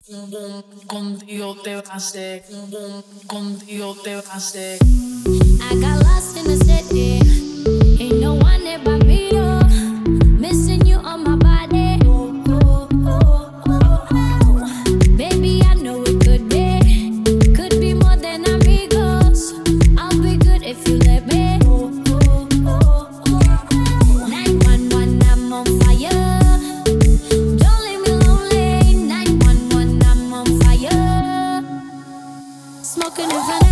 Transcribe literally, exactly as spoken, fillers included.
Contigo te va a hacer, contigo te va a hacer. I got lost in the city. Ain't no one there but me, though. Missing you on my body. Oh, oh, oh, oh, oh. Baby, I know it could be. Could be more than amigos. I'll be good if you let me. Oh, oh, oh, oh. nine one one, I'm on fire. Don't leave me lonely. nine one one, I'm on fire. Smoking in front